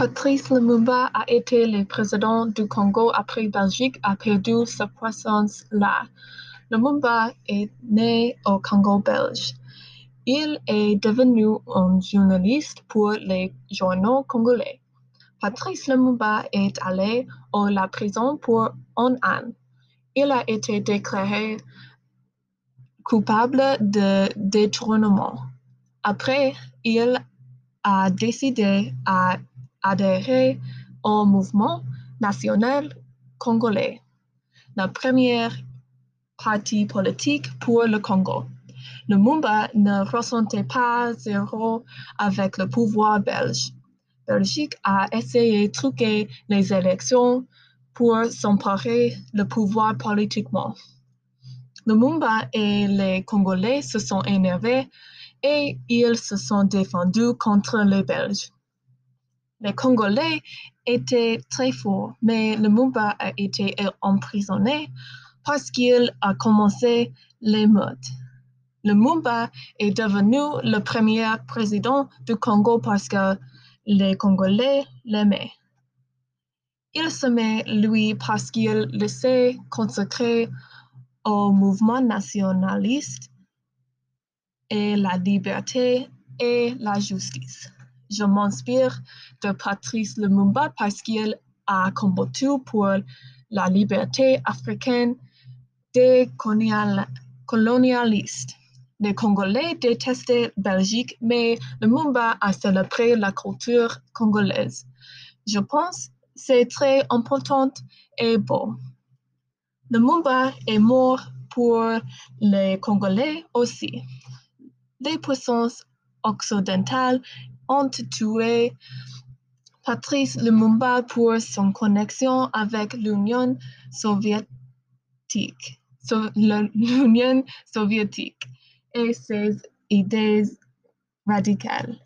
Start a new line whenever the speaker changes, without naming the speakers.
Patrice Lumumba a été le président du Congo après Belgique a perdu sa puissance là. Lumumba est né au Congo belge. Il est devenu un journaliste pour les journaux congolais. Patrice Lumumba est allé à la prison pour un an. Il a été déclaré coupable de détournement. Après, il a décidé d'adhérer au mouvement national congolais, la première parti politique pour le Congo. Lumumba ne ressentait pas zéro avec le pouvoir belge. Belgique a essayé de truquer les élections pour s'emparer le pouvoir politiquement. Lumumba et les Congolais se sont énervés et ils se sont défendus contre les Belges. Les Congolais étaient très forts, mais Lumumba a été emprisonné parce qu'il a commencé l'émeute. Lumumba est devenu le premier président du Congo parce que les Congolais l'aimaient. Il s'aimait lui parce qu'il s'est consacré au mouvement nationaliste et la liberté et la justice. Je m'inspire de Patrice Lumumba parce qu'il a combattu pour la liberté africaine des colonialistes. Les Congolais détestaient Belgique, mais Lumumba a célébré la culture congolaise. Je pense que c'est très important et beau. Lumumba est mort pour les Congolais aussi. Les puissances occidentales ont tué Patrice Lumumba pour son connexion avec l'Union soviétique et ses idées radicales.